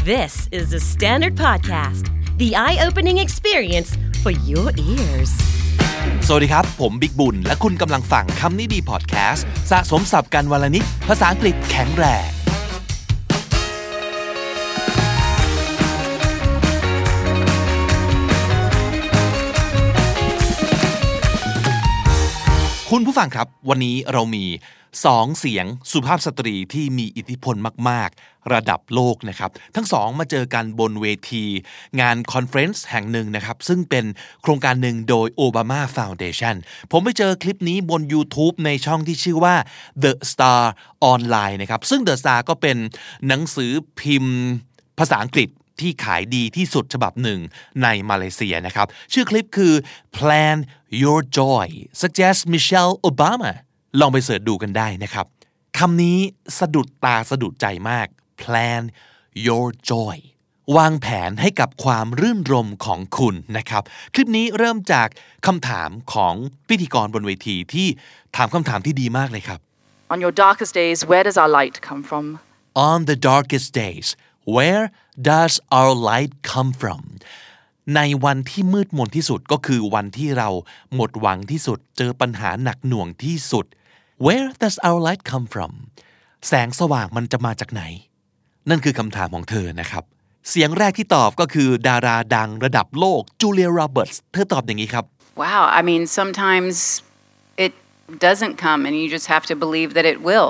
This is the Standard Podcast, the eye-opening experience for your ears. สวัสดีครับผมบิ๊กบุญและคุณกำลังฟังคำนี้ดีพอดแคสต์สะสมศัพท์กันวลนิดภาษาอังกฤษแข็งแรงคุณผู้ฟังครับวันนี้เรามี2เสียงสุภาพสตรีที่มีอิทธิพลมากๆระดับโลกนะครับทั้งสองมาเจอกันบนเวทีงานคอนเฟรนซ์แห่งหนึ่งนะครับซึ่งเป็นโครงการหนึ่งโดย Obama Foundation ผมไปเจอคลิปนี้บน YouTube ในช่องที่ชื่อว่า The Star Online นะครับซึ่ง The Star ก็เป็นหนังสือพิมพ์ภาษาอังกฤษที่ขายดีที่สุดฉบับหนึ่งในมาเลเซียนะครับชื่อคลิปคือ Plan Your Joy Suggest Michelle Obama ลองไปเสิร์ชดูกันได้นะครับคำนี้สะดุดตาสะดุดใจมาก Plan Your Joy วางแผนให้กับความรื่นรมย์ของคุณนะครับคลิปนี้เริ่มจากคำถามของพิธีกรบนเวทีที่ถามคำถามที่ดีมากเลยครับ On your darkest days, where does our light come from? On the darkest days, where does our light come from? ในวันที่มืดมนที่สุดก็คือวันที่เราหมดหวังที่สุดเจอปัญหาหนักหน่วงที่สุด Where does our light come from? แสงสว่างมันจะมาจากไหนนั่นคือคำถามของเธอนะครับเสียงแรกที่ตอบก็คือดาราดังระดับโลกจูเลียโรเบิร์ตส์เธอตอบอย่างนี้ครับ Wow, I mean, sometimes it doesn't come and you just have to believe that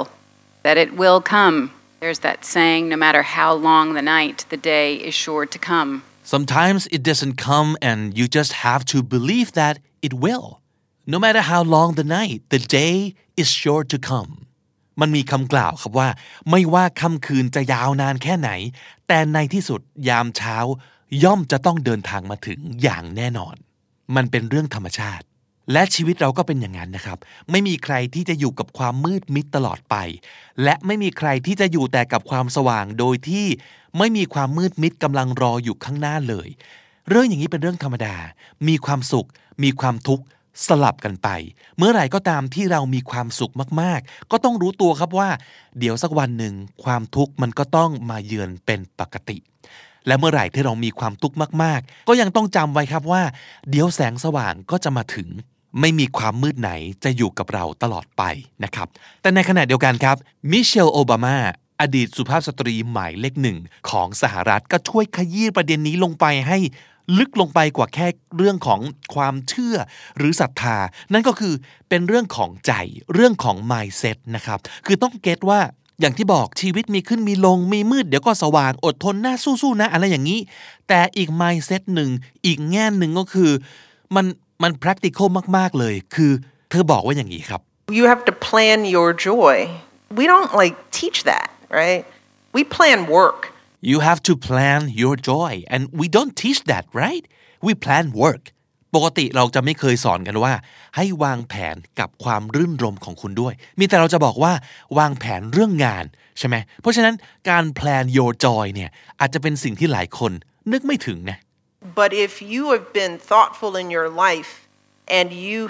it will come. There's that saying, no matter how long the night, the day is sure to come. Sometimes it doesn't come and you just have to believe that it will. No matter how long the night, the day is sure to come. มันมีคำกล่าวครับว่าไม่ว่าค่ำคืนจะยาวนานแค่ไหนแต่ในที่สุดยามเช้าย่อมจะต้องเดินทางมาถึงอย่างแน่นอนมันเป็นเรื่องธรรมชาติและชีวิตเราก็เป็นอย่างนั้นนะครับไม่มีใครที่จะอยู่กับความมืดมิดตลอดไปและไม่มีใครที่จะอยู่แต่กับความสว่างโดยที่ไม่มีความมืดมิดกำลังรออยู่ข้างหน้าเลยเรื่องอย่างนี้เป็นเรื่องธรรมดามีความสุขมีความทุกข์สลับกันไปเมื่อไหร่ก็ตามที่เรามีความสุขมากๆก็ต้องรู้ตัวครับว่าเดี๋ยวสักวันหนึ่งความทุกข์มันก็ต้องมาเยือนเป็นปกติและเมื่อไหร่ที่เรามีความทุกข์มากๆก็ยังต้องจำไว้ครับว่าเดี๋ยวแสงสว่างก็จะมาถึงไม่มีความมืดไหนจะอยู่กับเราตลอดไปนะครับแต่ในขณะเดียวกันครับมิเชลโอบามาอดีตสุภาพสตรีหมายเลขหนึ่งของสหรัฐก็ช่วยขยี้ประเด็นนี้ลงไปให้ลึกลงไปกว่าแค่เรื่องของความเชื่อหรือศรัทธานั่นก็คือเป็นเรื่องของใจเรื่องของ mindset นะครับคือต้องเก็ทว่าอย่างที่บอกชีวิตมีขึ้นมีลงมีมืดเดี๋ยวก็สว่างอดทนหน้าสู้ๆนะอะไรอย่างนี้แต่อีก mindset หนึ่งอีกแง่หนึ่งก็คือมัน practical มากๆเลยคือเธอบอกว่าอย่างนี้ครับ You have to plan your joy. We don't teach that, right? We plan work. You have to plan your joy and we don't teach that, right? We plan work. ปกติเราจะไม่เคยสอนกันว่าให้วางแผนกับความรื่นรมย์ของคุณด้วยมีแต่เราจะบอกว่าวางแผนเรื่องงานใช่ไหมเพราะฉะนั้นการ plan your joy เนี่ยอาจจะเป็นสิ่งที่หลายคนนึกไม่ถึงนะ But if you have been thoughtful in your life and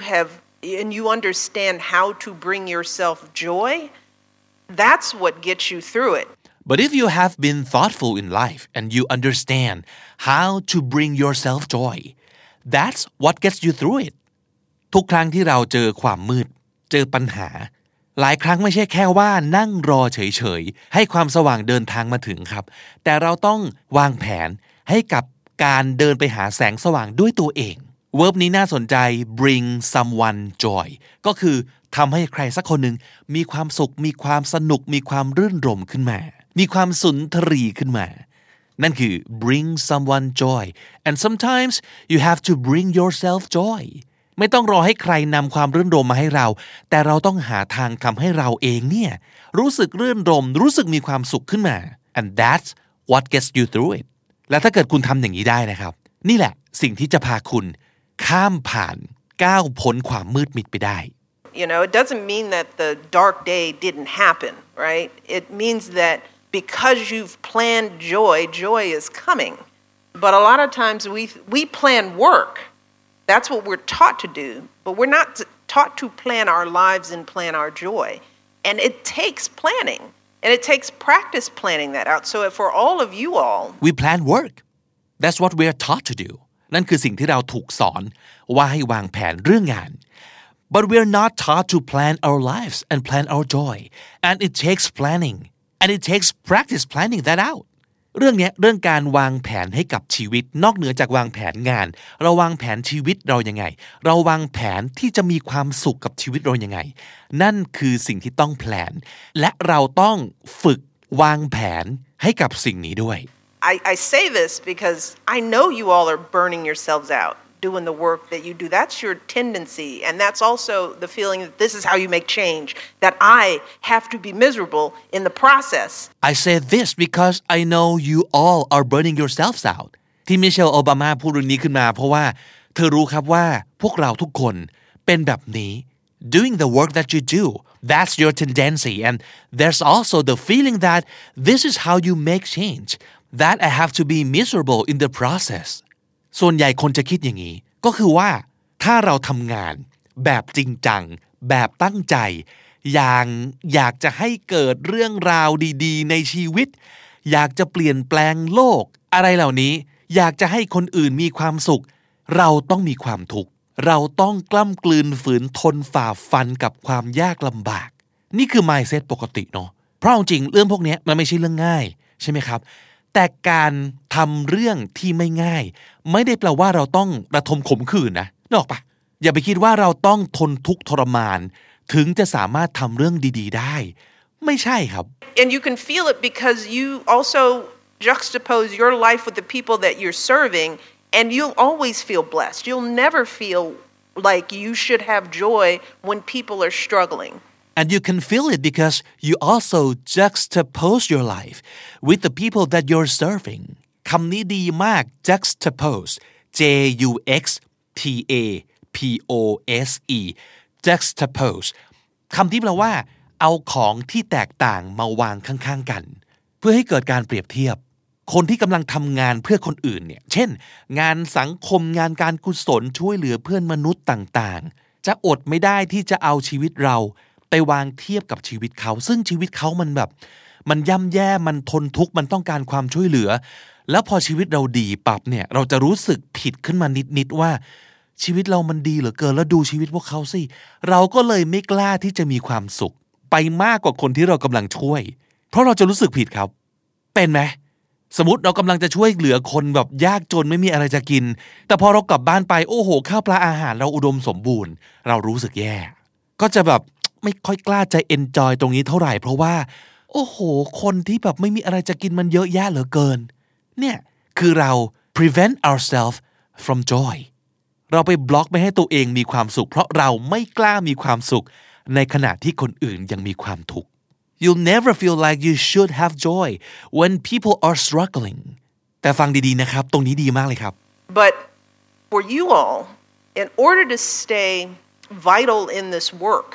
you understand how to bring yourself joy, that's what gets you through it. But if you have been thoughtful in life and you understand how to bring yourself joy, that's what gets you through it. ทุกครั้งที่เราเจอความมืดเจอปัญหาหลายครั้งไม่ใช่แค่ว่านั่งรอเฉยๆให้ความสว่างเดินทางมาถึงครับแต่เราต้องวางแผนให้กับการเดินไปหาแสงสว่างด้วยตัวเองเวิร์บนี้น่าสนใจ bring someone joy ก็คือทำให้ใครสักคนหนึ่งมีความสุขมีความสนุกมีความรื่นรมย์ขึ้นมามีความสุนทรีขึ้นมานั่นคือ bring someone joy and sometimes you have to bring yourself joy ไม่ต้องรอให้ใครนำความรื่นรมย์มาให้เราแต่เราต้องหาทางทำให้เราเองเนี่ยรู้สึกรื่นรมย์รู้สึกมีความสุขขึ้นมา and that's what gets you through itและถ้าเกิดคุณทำอย่างนี้ได้นะครับนี่แหละสิ่งที่จะพาคุณข้ามผ่านก้าวพ้นความมืดมิดไปได้ You know, it doesn't mean that the dark day didn't happen, right? It means that because you've planned joy, joy is coming. But a lot of times we plan work. That's what we're taught to do, but we're not taught to plan our lives and plan our joy. And it takes planning. And it takes practice planning that out. So for all of you all, we plan work that's what we are taught to do นั่นคือสิ่งที่เราถูกสอนว่าให้วางแผนเรื่องงาน but we are not taught to plan our lives and plan our joy and it takes planning and it takes practice planning that out เรื่องการวางแผนให้กับชีวิตนอกเหนือจากวางแผนงานเราวางแผนชีวิตเรายังไงเราวางแผนที่จะมีความสุขกับชีวิตเรายังไงนั่นคือสิ่งที่ต้องแพลนและเราต้องฝึกวางแผนให้กับสิ่งนี้ด้วย I say this because I know you all are burning yourselves out doing the work that you do. That's your tendency. And that's also the feeling that this is how you make change, that I have to be miserable in the process. I say this because I know you all are burning yourselves out. ที่มิเชลโอบามาพูดเรื่องนี้ขึ้นมาเพราะว่าเธอรู้ครับว่าพวกเราทุกคนเป็นแบบนี้ doing the work that you do. That's your tendency. And there's also the feeling that this is how you make change.That I have to be miserable in the process ส่วนใหญ่คนจะคิดอย่างนี้ก็คือว่าถ้าเราทำงานแบบจริงจังแบบตั้งใจอยากจะให้เกิดเรื่องราวดีๆในชีวิตอยากจะเปลี่ยนแปลงโลกอะไรเหล่านี้อยากจะให้คนอื่นมีความสุขเราต้องมีความทุกข์เราต้องกล้ำกลืนฝืนทนฝ่าฟันกับความยากลำบากนี่คือ mindset ปกติเนาะเพราะจริงเรื่องพวกนี้มันไม่ใช่เรื่องง่ายใช่ไหมครับแต่การทำเรื่องที่ไม่ง่ายไม่ได้แปลว่าเราต้องระทมขมขื่นนะนึกออกปะอย่าไปคิดว่าเราต้องทนทุกข์ทรมานถึงจะสามารถทำเรื่องดีๆได้ไม่ใช่ครับ And you can feel it because you also juxtapose your life with the people that you're serving and you'll always feel blessed. You'll never feel like you should have joy when people are struggling.And you can feel it because you also juxtapose your life with the people that you're serving คำนี้ดีมาก juxtapose J-U-X-T-A-P-O-S-E juxtapose คำที่แปลว่าเอาของที่แตกต่างมาวางข้างๆกันเพื่อให้เกิดการเปรียบเทียบคนที่กำลังทำงานเพื่อคนอื่นเนี่ยเช่นงานสังคมงานการกุศลช่วยเหลือเพื่อนมนุษย์ต่างๆจะอดไม่ได้ที่จะเอาชีวิตเราไปวางเทียบกับชีวิตเขาซึ่งชีวิตเขามันแบบมันย่ำแย่มันทนทุกข์มันต้องการความช่วยเหลือแล้วพอชีวิตเราดีปั๊บเนี่ยเราจะรู้สึกผิดขึ้นมานิดๆว่าชีวิตเรามันดีเหลือเกินแล้วดูชีวิตพวกเขาสิเราก็เลยไม่กล้าที่จะมีความสุขไปมากกว่าคนที่เรากำลังช่วยเพราะเราจะรู้สึกผิดครับเป็นไหมสมมติเรากำลังจะช่วยเหลือคนแบบยากจนไม่มีอะไรจะกินแต่พอเรากลับบ้านไปโอ้โหข้าวปลาอาหารเราอุดมสมบูรณ์เรารู้สึกแย่ก็จะแบบไม่ค่อยกล้าจะ enjoy ตรงนี้เท่าไหร่เพราะว่าโอ้โหคนที่แบบไม่มีอะไรจะกินมันเยอะแยะเหลือเกินเนี่ยคือเรา prevent ourselves from joy เราไปบล็อกไม่ให้ตัวเองมีความสุขเพราะเราไม่กล้ามีความสุขในขณะที่คนอื่นยังมีความทุกข์ You'll never feel like you should have joy when people are struggling แต่ฟังดีๆนะครับตรงนี้ดีมากเลยครับ But for you all in order to stay vital in this work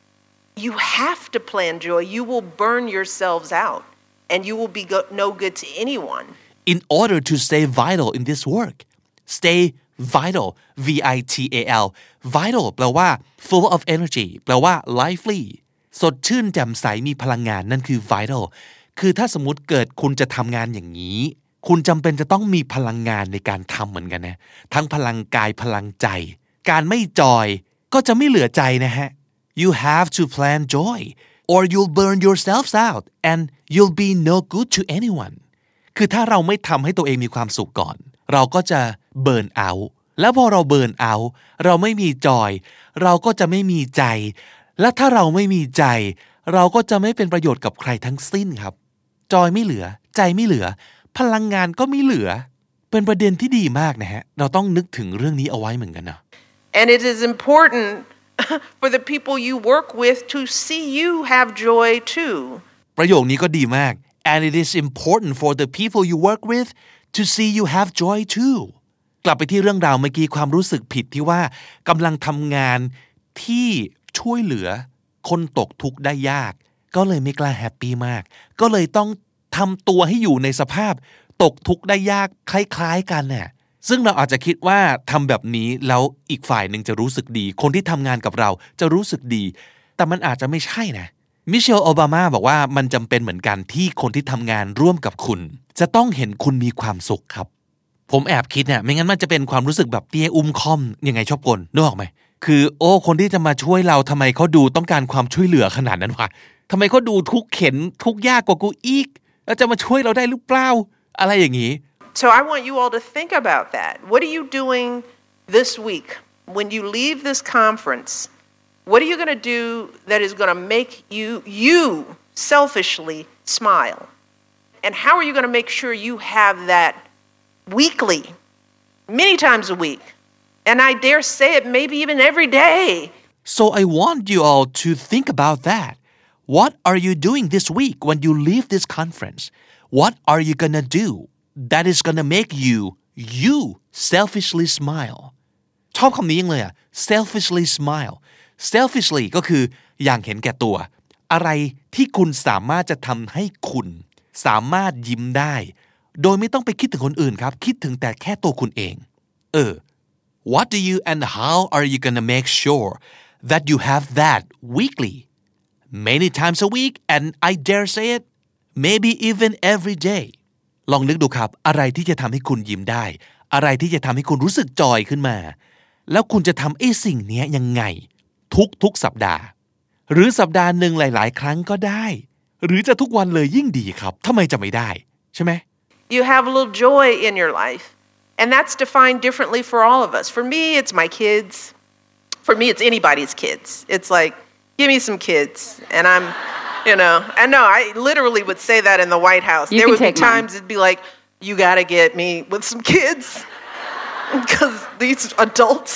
you have to plan joy you will burn yourselves out and you will be no good to anyone in order to stay vital in this work stay vital V-I-T-A-L vital แปลว่า full of energy แปลว่า lively สดชื่นแจ่มใสมีพลังงานนั่นคือ vital คือถ้าสมมุติเกิดคุณจะทำงานอย่างนี้คุณจำเป็นจะต้องมีพลังงานในการทำเหมือนกันนะทั้งพลังกายพลังใจการไม่จอยก็จะไม่เหลือใจนะฮะYou have to plan joy or you'll burn yourselves out and you'll be no good to anyone คือถ้าเราไม่ทำให้ตัวเองมีความสุขก่อนเราก็จะ burn out แล้วพอเรา burn out เราไม่มีจอยเราก็จะไม่มีใจและถ้าเราไม่มีใจเราก็จะไม่เป็นประโยชน์กับใครทั้งสิ้นครับจอยไม่เหลือใจไม่เหลือพลังงานก็ไม่เหลือเป็นประเด็นที่ดีมากนะฮะเราต้องนึกถึงเรื่องนี้เอาไว้เหมือนกันนะ And it is important for the people you work with to see you have joy too ประโยคนี้ก็ดีมาก and it is important for the people you work with to see you have joy too กลับไปที่เรื่องราวเมื่อกี้ความรู้สึกผิดที่ว่ากำลังทำงานที่ช่วยเหลือคนตกทุกข์ได้ยากก็เลยไม่กล้าแฮปปี้มากก็เลยต้องทำตัวให้อยู่ในสภาพตกทุกข์ได้ยากคล้ายๆกันเนี่ยซึ่งเราอาจจะคิดว่าทำแบบนี้แล้วอีกฝ่ายหนึ่งจะรู้สึกดีคนที่ทำงานกับเราจะรู้สึกดีแต่มันอาจจะไม่ใช่นะมิเชลโอบามาบอกว่ามันจำเป็นเหมือนกันที่คนที่ทำงานร่วมกับคุณจะต้องเห็นคุณมีความสุขครับผมแอบคิดเนี่ยไม่งั้นมันจะเป็นความรู้สึกแบบเตี้ยอุ้มค่อมยังไงชอบกลนึกออกไหมคือคนที่จะมาช่วยเราทำไมเขาดูต้องการความช่วยเหลือขนาดนั้นวะทำไมเขาดูทุกข์เข็นทุกข์ยากกว่ากูอีกแล้วจะมาช่วยเราได้หรือเปล่าอะไรอย่างนี้ So I want you all to think about that. What are you doing this week when you leave this conference? What are you going to do that is going to make you selfishly smile? And how are you going to make sure you have that weekly, many times a week? And I dare say it maybe even every day. So I want you all to think about that. What are you doing this week when you leave this conference? What are you going to do that is going to make you selfishly smile? ชอบคำนี้ยังเลยอ่ะ selfishly smile selfishly ก็คืออย่างเห็นแก่ตัวอะไรที่คุณสามารถจะทำให้คุณสามารถยิ้มได้โดยไม่ต้องไปคิดถึงคนอื่นครับคิดถึงแต่แค่ตัวคุณเองWhat do you and how are you gonna make sure that you have that weekly many times a week and I dare say it maybe even every day ลองนึกดูครับอะไรที่จะทำให้คุณยิ้มได้อะไรที่จะทำให้คุณรู้สึกจอยขึ้นมาแล้วคุณจะทำไอ้สิ่งนี้ยังไงทุกสัปดาห์หรือสัปดาห์หนึ่งหลายๆครั้งก็ได้หรือจะทุกวันเลยยิ่งดีครับทำไมจะไม่ได้ใช่ไหม You have a little joy in your life and that's defined differently for all of us. For me it's my kids. For me it's anybody's kids. It's like give me some kids and I'm and no I literally would say that in the White House. There would be times it'd be like you got to get me with some kids because these adults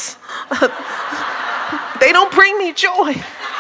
they don't bring me joy.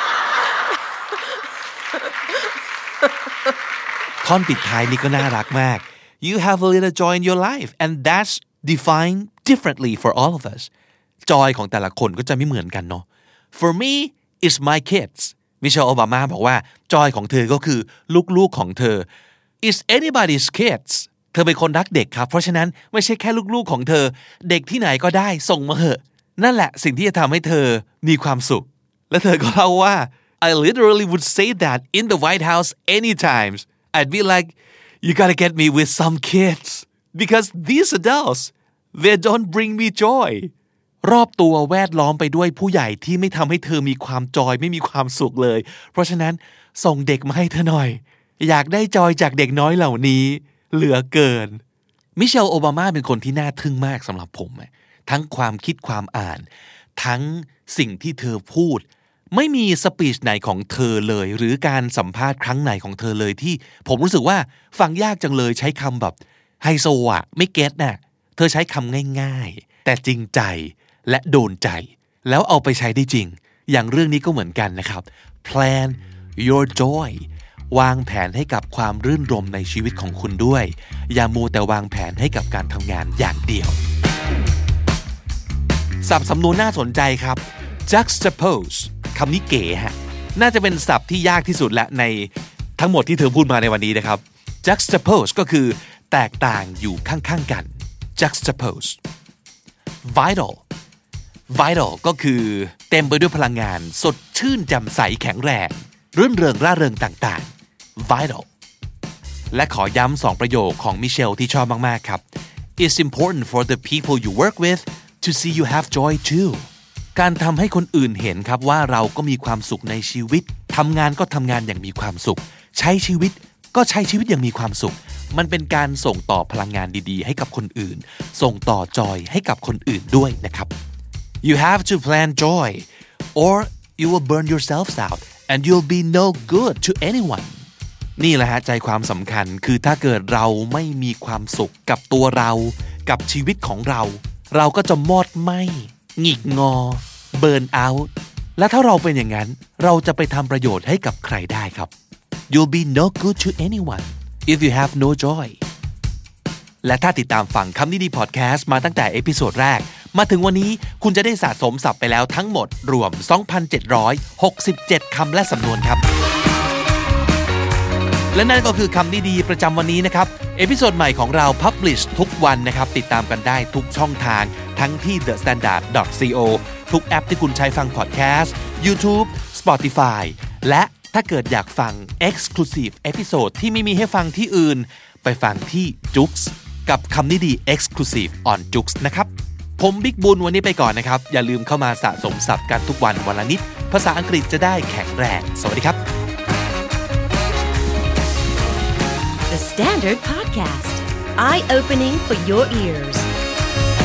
ท่อนปิดท้ายนี่ก็น่ารักมาก You have a little joy in your life and that's defined differently for all of us จอยของแต่ละคนก็จะไม่เหมือนกันเนาะ For me it's my kids มิเชลโอบามาบอกว่าจอยของเธอก็คือลูกๆของเธอ It's anybody's kids เธอเป็นคนรักเด็กครับเพราะฉะนั้นไม่ใช่แค่ลูกๆของเธอเด็กที่ไหนก็ได้ส่งมาเหอะนั่นแหละสิ่งที่จะทำให้เธอมีความสุขและเธอก็เล่าว่า I literally would say that in the White House anytime I'd be like you gotta get me with some kids because these adults they don't bring me joy รอบตัวแวดล้อมไปด้วยผู้ใหญ่ที่ไม่ทำให้เธอมีความจอยไม่มีความสุขเลยเพราะฉะนั้นส่งเด็กมาให้เธอหน่อยอยากได้จอยจากเด็กน้อยเหล่านี้เหลือเกินมิเชลโอบามาเป็นคนที่น่าทึ่งมากสำหรับผมทั้งความคิดความอ่านทั้งสิ่งที่เธอพูดไม่มีสปีชไหนของเธอเลยหรือการสัมภาษณ์ครั้งไหนของเธอเลยที่ผมรู้สึกว่าฟังยากจังเลยใช้คำแบบไฮโซอ่ะไม่เก็ตน่ะเธอใช้คำง่ายๆแต่จริงใจและโดนใจแล้วเอาไปใช้ได้จริงอย่างเรื่องนี้ก็เหมือนกันนะครับ Plan your joy วางแผนให้กับความรื่นรมในชีวิตของคุณด้วยอย่ามัวแต่วางแผนให้กับการทำงานอย่างเดียวศัพท์สำนวนน่าสนใจครับ juxtapose คำนี้เก๋ฮะน่าจะเป็นศัพท์ที่ยากที่สุดและในทั้งหมดที่เธอพูดมาในวันนี้นะครับ juxtapose ก็คือแตกต่างอยู่ข้างๆกัน juxtapose vital ก็คือเต็มไปด้วยพลังงานสดชื่นแจ่มใสแข็งแรงรื่นเริงร่าเริงต่างๆ vital และขอย้ำ2ประโยคของมิเชลที่ชอบมากๆครับ It's important for the people you work with to see you have joy too การทำให้คนอื่นเห็นครับว่าเราก็มีความสุขในชีวิตทำงานก็ทำงานอย่างมีความสุขใช้ชีวิตก็ใช้ชีวิตอย่างมีความสุขมันเป็นการส่งต่อพลังงานดีๆให้กับคนอื่นส่งต่อจอยให้กับคนอื่นด้วยนะครับ You have to plan joy or you will burn yourselves out and you'll be no good to anyone นี่แหละฮะใจความสำคัญคือถ้าเกิดเราไม่มีความสุขกับตัวเรากับชีวิตของเราเราก็จะมอดไหม้หงิกงอเบิร์นเอาท์และถ้าเราเป็นอย่างนั้นเราจะไปทำประโยชน์ให้กับใครได้ครับ You'll be no good to anyone if you have no joy และถ้าติดตามฟังคำนี้ดีพอดแคสต์มาตั้งแต่เอพิโซดแรกมาถึงวันนี้คุณจะได้สะสมศัพท์ไปแล้วทั้งหมดรวม 2,767 คำและสำนวนครับและนั่นก็คือคำนี้ดีประจำวันนี้นะครับเอพิโซดใหม่ของเรา Publish ทุกวันนะครับติดตามกันได้ทุกช่องทางทั้งที่ thestandard.co ทุกแอปที่คุณใช้ฟังพอดแคสต์ YouTube Spotify และถ้าเกิดอยากฟัง Exclusive Episode ที่ไม่มีให้ฟังที่อื่นไปฟังที่ Joox กับคำนี้ดี Exclusive on Joox นะครับผมบิ๊กบุญวันนี้ไปก่อนนะครับอย่าลืมเข้ามาสะสมศัพท์กันทุกวันวันละนิดภาษาอังกฤษจะได้แข็งแรงสวัสดีครับ The Standard Podcast Eye Opening for Your Ears